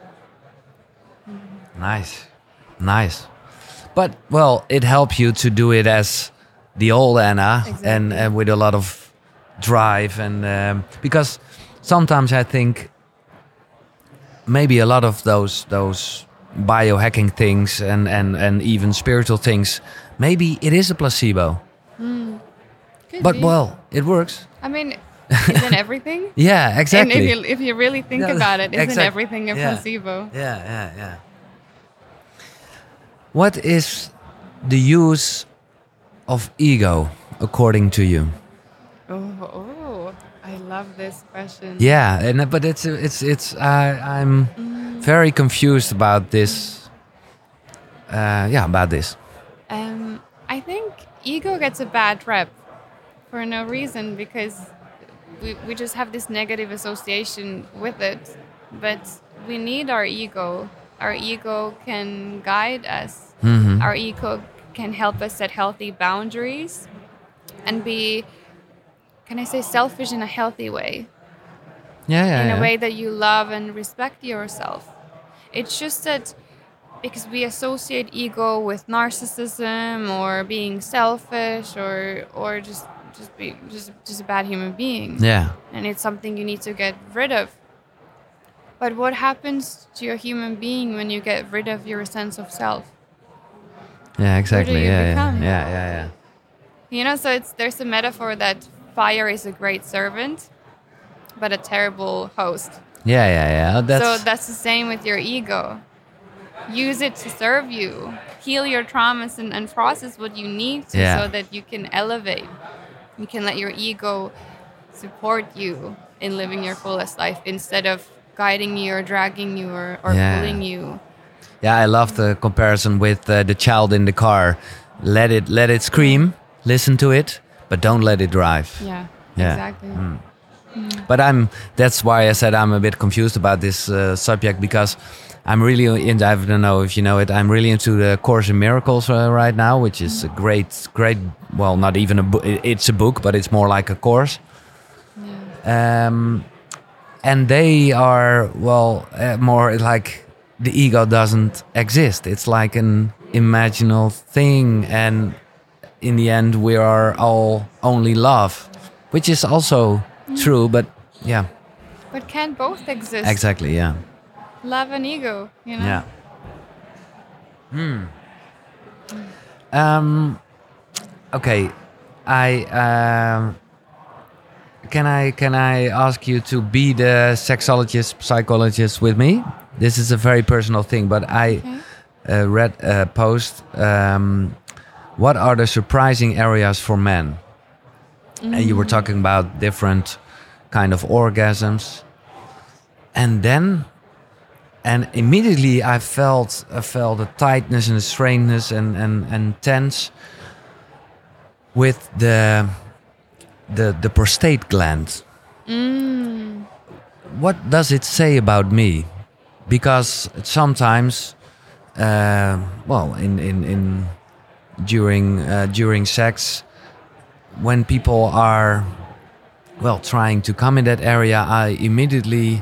Nice. But well, it helps you to do it as the old Anna, Exactly. and with a lot of drive, and because sometimes I think maybe a lot of those biohacking things and even spiritual things, maybe it is a placebo. Could But be. well, it works. I mean, isn't everything? Yeah, exactly. And if you really think Yeah, about it, isn't exact- everything a yeah. placebo? Yeah. What is the use of ego, according to you? Oh, I love this question. Yeah, but it's I'm very confused about this. About this. I think ego gets a bad rep for no reason, because we just have this negative association with it. But we need our ego. Our ego can guide us. Our ego can help us set healthy boundaries and be, can I say, selfish in a healthy way. In a way that you love and respect yourself. It's just that because we associate ego with narcissism or being selfish or just a bad human being. Yeah. And it's something you need to get rid of. But what happens to a human being when you get rid of your sense of self? Yeah, exactly. you Yeah, become? yeah. So there's a metaphor that fire is a great servant. but a terrible host. Yeah. So that's the same with your ego. Use it to serve you. Heal your traumas and process what you need to Yeah. so that you can elevate. You can let your ego support you in living your fullest life instead of guiding you or dragging you or Yeah. pulling you. Yeah, I love the comparison with the child in the car. Let it scream, listen to it, but don't let it drive. Yeah, Yeah. exactly. But that's why I said I'm a bit confused about this subject, because I'm really into, I don't know if you know it, I'm really into the Course in Miracles right now, which is a great, well, not even a book, it's a book, but it's more like a course. Yeah. And they are, well, more like the ego doesn't exist. It's like an imaginal thing. And in the end, we are all only love, which is also true, but yeah. But can both exist? Exactly, yeah. Love and ego, you know? Yeah. Okay. Can I ask you to be the sexologist, psychologist with me? This is a very personal thing, but I read a post. What are the surprising areas for men? And you were talking about different kind of orgasms, and immediately I felt a tightness and a straightness and tense with the prostate gland. What does it say about me? Because sometimes, well, during sex, when people are, well, trying to come in that area, I immediately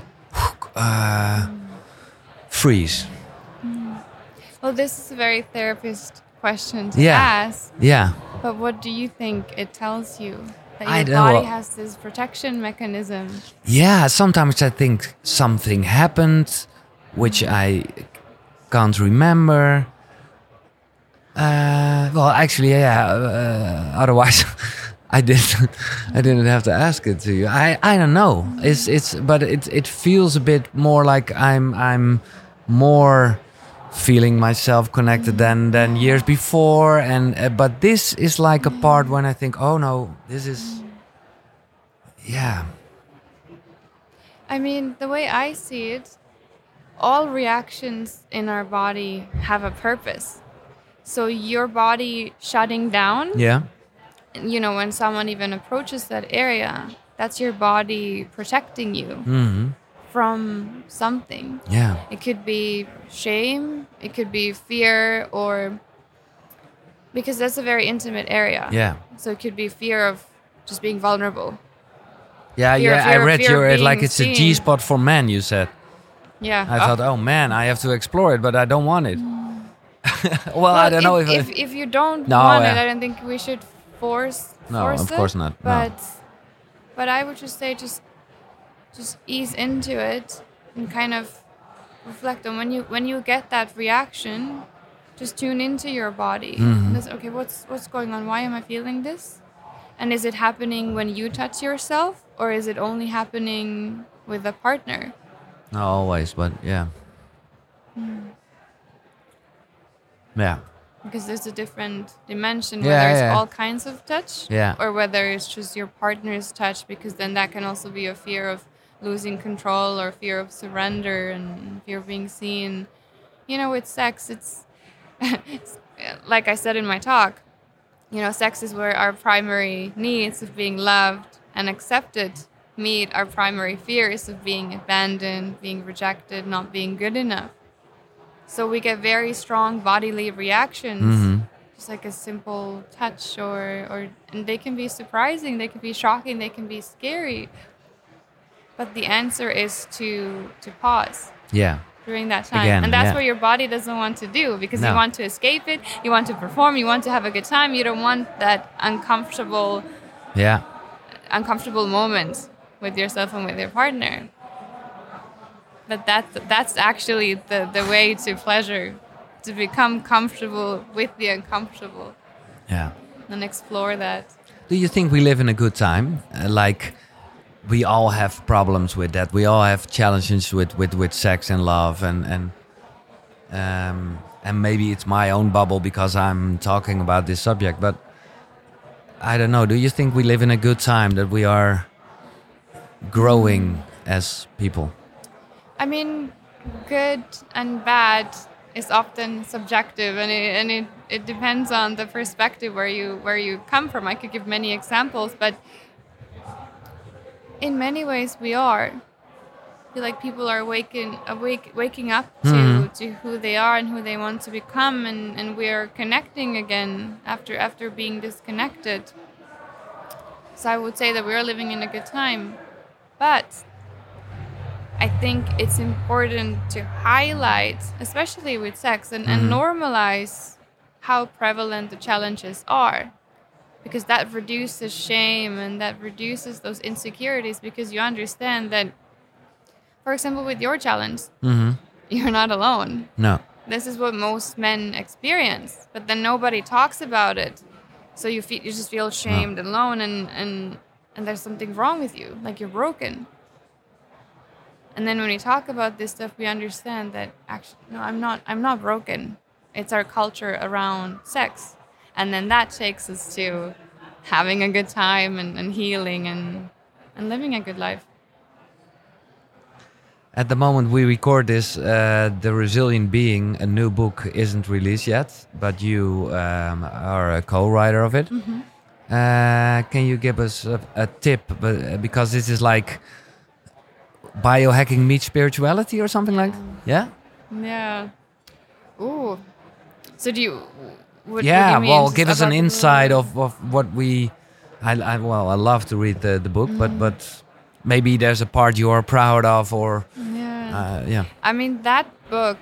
freeze. Well, this is a very therapist question to Yeah. ask. Yeah. But what do you think it tells you? That I your don't body know. has this protection mechanism. Yeah, sometimes I think something happened, which I can't remember. Well, actually, yeah. Otherwise, I didn't have to ask it to you. I don't know. But it feels a bit more like I'm more feeling myself connected than years before. And but this is like a part when I think, oh no, this is, yeah. I mean, the way I see it, all reactions in our body have a purpose. So your body shutting down, Yeah. you know, when someone even approaches that area, that's your body protecting you from something. Yeah. It could be shame, it could be fear, or because that's a very intimate area. Yeah. So it could be fear of just being vulnerable. Yeah, Fear- yeah. I fear- read fear your of like being it's a seen. G spot for men. You said. Yeah. I thought, oh man, I have to explore it, but I don't want it. Well, I don't know if you don't No, want it, yeah. I don't think we should force. No, force of it, course not, no. But I would just say just ease into it and kind of reflect on when you get that reaction, just tune into your body. And just, okay, what's going on? Why am I feeling this? And is it happening when you touch yourself, or is it only happening with a partner? No, always, but yeah. Yeah. Because there's a different dimension Yeah, where there's yeah. all kinds of touch, Yeah. or whether it's just your partner's touch, because then that can also be a fear of losing control or fear of surrender and fear of being seen. You know, with sex, it's like I said in my talk, you know, sex is where our primary needs of being loved and accepted meet our primary fears of being abandoned, being rejected, not being good enough. So we get very strong bodily reactions, just like a simple touch, and they can be surprising, they can be shocking, they can be scary. But the answer is to pause Yeah. during that time. Again, and that's yeah. what your body doesn't want to do, because No. you want to escape it, you want to perform, you want to have a good time, you don't want that uncomfortable Yeah. moment with yourself and with your partner. But that's actually the way to pleasure, to become comfortable with the uncomfortable Yeah. and explore that. Do you think we live in a good time? Like we all have problems with that. We all have challenges with sex and love, and maybe it's my own bubble because I'm talking about this subject. But I don't know. Do you think we live in a good time, that we are growing as people? I mean, good and bad is often subjective, and it depends on the perspective where you come from. I could give many examples, but in many ways we are. I feel like people are waking up to who they are and who they want to become, and we are connecting again after being disconnected. So I would say that we are living in a good time, but I think it's important to highlight, especially with sex, and normalize how prevalent the challenges are, because that reduces shame and that reduces those insecurities, because you understand that, for example, with your challenge, you're not alone. No. This is what most men experience, but then nobody talks about it. So you just feel shamed and alone, and there's something wrong with you, like you're broken. And then when we talk about this stuff, we understand that actually, no, I'm not broken. It's our culture around sex. And then that takes us to having a good time and healing and living a good life. At the moment we record this, The Resilient Being, a new book, isn't released yet, but you are a co-writer of it. Can you give us a tip? Because this is like biohacking meets spirituality or something like that? Yeah? Yeah. Ooh. So do you... What do Yeah, you mean? well, Just give us an about the insight movie? of what we... I love to read the book, but maybe there's a part you are proud of, or... Yeah. I mean, that book,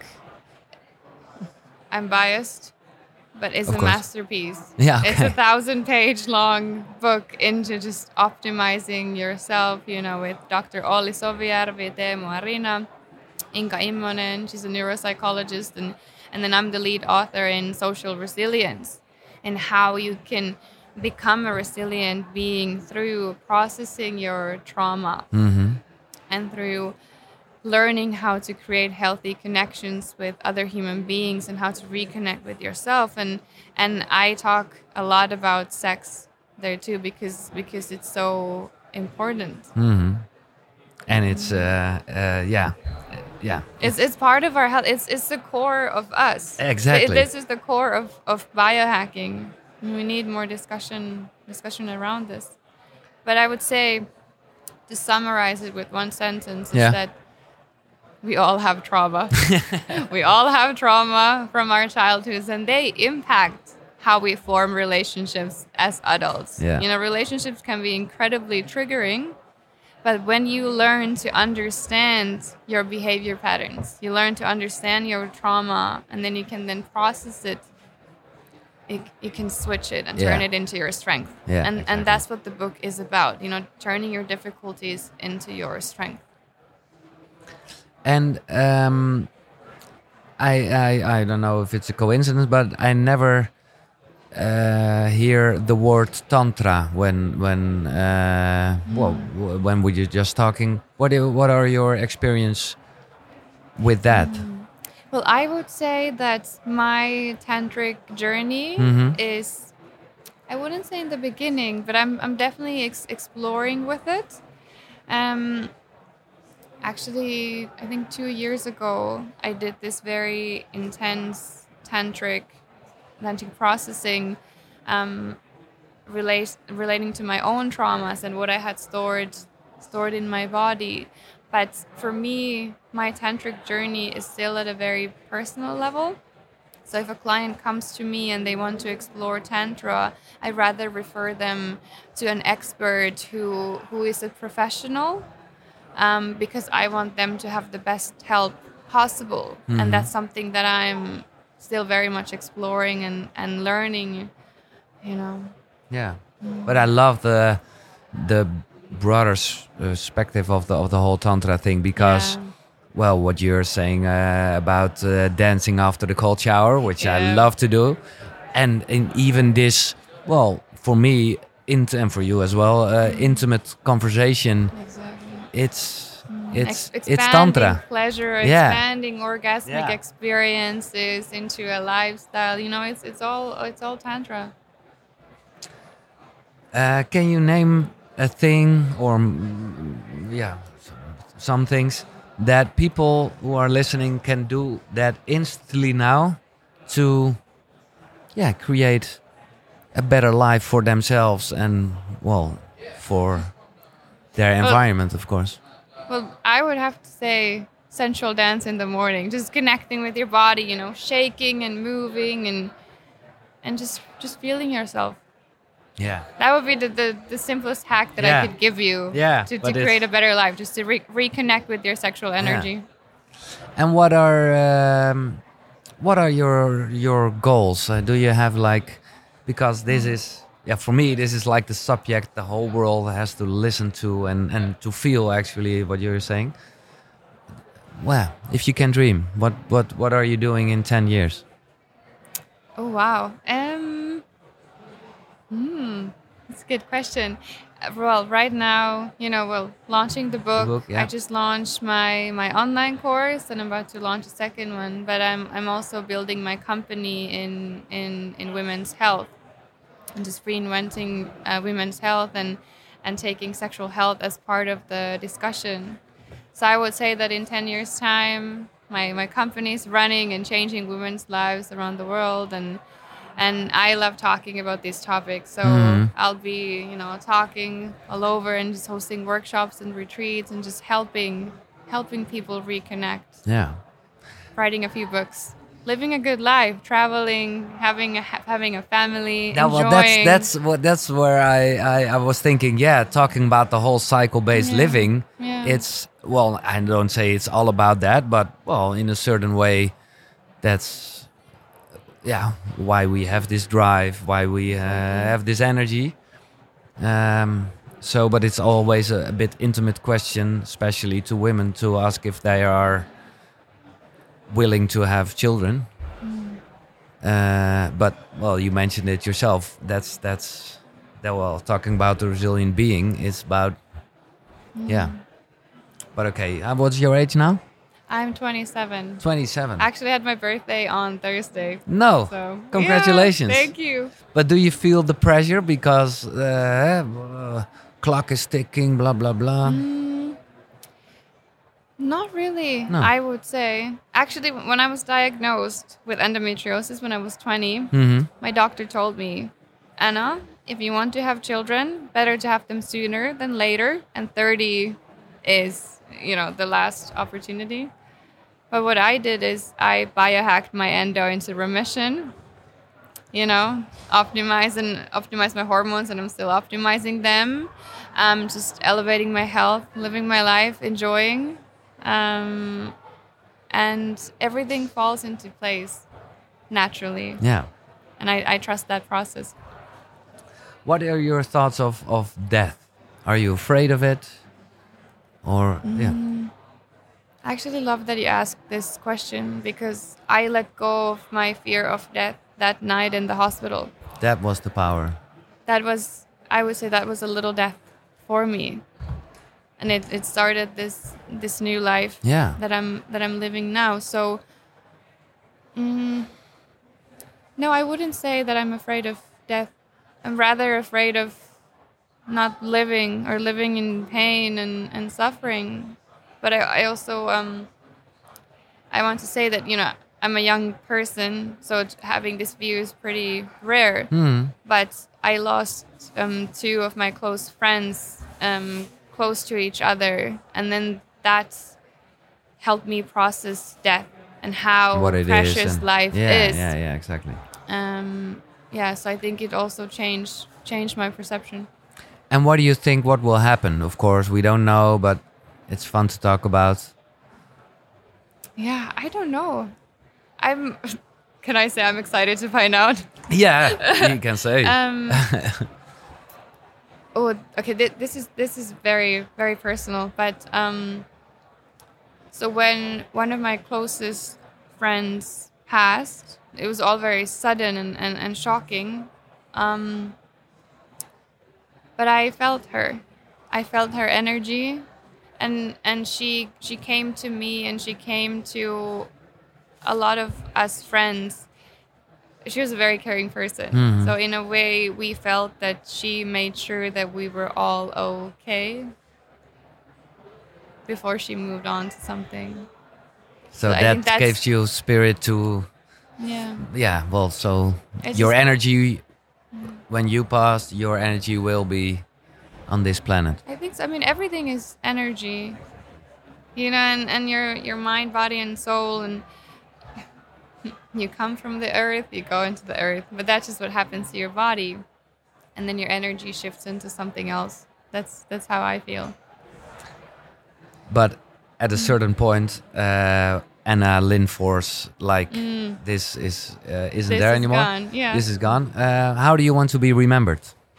I'm biased, but it's Of a course. masterpiece. Yeah, It's a okay. 1,000-page long book into just optimizing yourself, with Dr. Olli Sovijärvi, Teemu Arina, Inka Immonen. She's a neuropsychologist, and then I'm the lead author in Social Resilience, and how you can become a resilient being through processing your trauma and through learning how to create healthy connections with other human beings and how to reconnect with yourself. And I talk a lot about sex there too, because it's so important. And it's, yeah. It's part of our health. It's the core of us. Exactly. This is the core of biohacking. We need more discussion around this. But I would say, to summarize it with one sentence, is that we all have trauma. We all have trauma from our childhoods, and they impact how we form relationships as adults. Yeah. Relationships can be incredibly triggering, but when you learn to understand your behavior patterns, you learn to understand your trauma, and then you can then process it. You can switch it and turn it into your strength. Yeah, and exactly. that's what the book is about. Turning your difficulties into your strength. And I don't know if it's a coincidence, but I never hear the word tantra when we were just talking. What are your experience with that? Well, I would say that my tantric journey is, I wouldn't say in the beginning, but I'm definitely exploring with it. Actually, I think 2 years ago, I did this very intense tantric processing relating to my own traumas and what I had stored in my body. But for me, my tantric journey is still at a very personal level. So if a client comes to me and they want to explore tantra, I rather refer them to an expert who is a professional, because I want them to have the best help possible. And that's something that I'm still very much exploring and learning, Yeah, but I love the broader perspective of the whole tantra thing, because well, what you're saying about dancing after the cold shower, which I love to do, and even this, well, for me, and for you as well, intimate conversation. Exactly. It's tantra. Pleasure, Yeah. expanding orgasmic Yeah. experiences into a lifestyle. You know, it's all tantra. Can you name a thing or yeah, some things that people who are listening can do that instantly now to create a better life for themselves and well for their environment, of course. Well, I would have to say sensual dance in the morning, just connecting with your body, you know, shaking and moving and just feeling yourself. Yeah. That would be the simplest hack that Yeah. I could give you Yeah, to but create it's- a better life, just to reconnect with your sexual energy. And what are your goals? Do you have like, because this is for me this is like the subject the whole world has to listen to and to feel actually what you're saying. Well, if you can dream, what are you doing in 10 years? Oh wow. That's a good question. Well, right now, you know, well, launching the book. book, yeah. I just launched my online course, and I'm about to launch a second one. But I'm also building my company in women's health, and just reinventing women's health and taking sexual health as part of the discussion. So I would say that in 10 years' time, my company is running and changing women's lives around the world, and I love talking about these topics. So I'll be, you know, talking all over and just hosting workshops and retreats and just helping people reconnect. Yeah. Writing a few books, living a good life, traveling, having a family, Yeah, well, enjoying. that's where I was thinking. Yeah, talking about the whole cycle-based Yeah, living. yeah. It's well, I don't say it's all about that, but well, in a certain way, that's why we have this drive, why we have this energy. So, but it's always a bit intimate question, especially to women, to ask if they are willing to have children. But well, you mentioned it yourself. That's that. Well, talking about the resilient being is about yeah. But okay, what's your age now? I'm 27. 27. Actually, I had my birthday on Thursday. No, So congratulations. yeah, thank you. But do you feel the pressure because clock is ticking, blah blah blah? Not really, No. I would say. Actually, when I was diagnosed with endometriosis when I was 20, my doctor told me, Anna, if you want to have children, better to have them sooner than later. And 30 is, you know, the last opportunity. But what I did is I biohacked my endo into remission, you know, optimize my hormones, and I'm still optimizing them. Just elevating my health, living my life, enjoying. And everything falls into place naturally. Yeah. And I trust that process. What are your thoughts of death? Are you afraid of it? Or yeah. I actually love that you asked this question because I let go of my fear of death that night in the hospital. That was the power. That was, I would say, that was a little death for me, and it started this new life that I'm living now. So, no, I wouldn't say that I'm afraid of death. I'm rather afraid of not living or living in pain and suffering. But I also I want to say that, you know, I'm a young person, so having this view is pretty rare. But I lost two of my close friends close to each other, and then that helped me process death and how What it precious is and- life yeah, is. Yeah, exactly. So I think it also changed my perception. And what do you think? What will happen? Of course, we don't know, but it's fun to talk about. Yeah, I don't know. Can I say I'm excited to find out? Yeah, you can say. Okay. This is very, very personal. But so when one of my closest friends passed, it was all very sudden and shocking. but I felt her. I felt her energy, and she came to me, and she came to a lot of us friends. She was a very caring person. Mhm. So in a way, we felt that she made sure that we were all okay before she moved on to something. So I that think that's- gives you spirit to, Yeah. well, so It's your just- energy, when you pass, your energy will be on this planet. I think so. I mean, everything is energy, you know, and your mind, body, and soul, and you come from the earth, you go into the earth, but that's just what happens to your body, and then your energy shifts into something else. That's how I feel. But at a certain point, Anna Lindfors, like this isn't This there is anymore. gone, yeah. This is gone. How do you want to be remembered?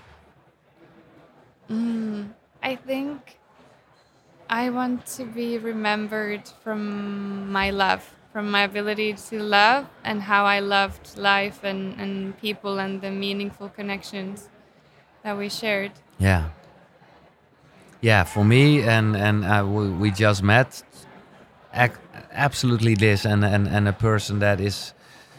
I think I want to be remembered from my love, from my ability to love, and how I loved life and people and the meaningful connections that we shared. Yeah. Yeah, for me, and we just met. Absolutely this, and a person that is,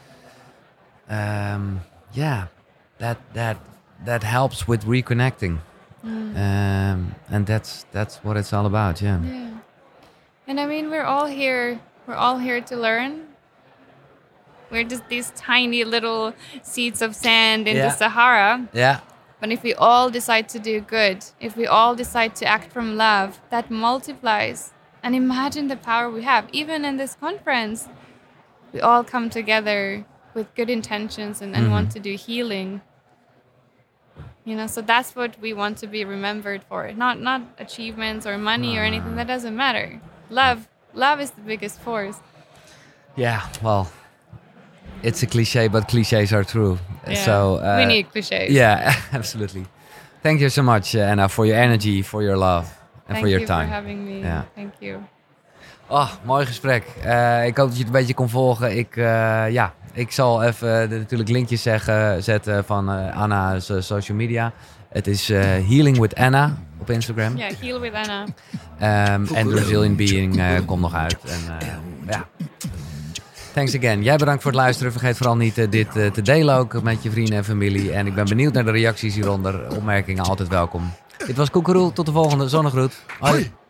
that helps with reconnecting, and that's what it's all about. Yeah. Yeah. And I mean, we're all here. We're all here to learn. We're just these tiny little seeds of sand in Yeah. the Sahara. Yeah. But if we all decide to do good, if we all decide to act from love, that multiplies. And imagine the power we have. Even in this conference, we all come together with good intentions and want to do healing. You know, so that's what we want to be remembered for. Not achievements or money or anything. That doesn't matter. Love is the biggest force. Yeah. Well, it's a cliche, but cliches are true. Yeah. So we need cliches. Yeah, absolutely. Thank you so much, Anna, for your energy, for your love, and Thank for your you time. for having me. Ja. Thank you. Oh, mooi gesprek. Ik hoop dat je het een beetje kon volgen. Ik zal even natuurlijk linkjes zetten van Anna's social media. Het is Healing with Anna op Instagram. Ja, Heal with Anna. En The Resilient Being komt nog uit. En ja. Thanks again. Jij bedankt voor het luisteren. Vergeet vooral niet dit te delen ook met je vrienden en familie. En ik ben benieuwd naar de reacties hieronder. Opmerkingen altijd welkom. Dit was Koekeroe. Tot de volgende. Zonnegroet. Hoi.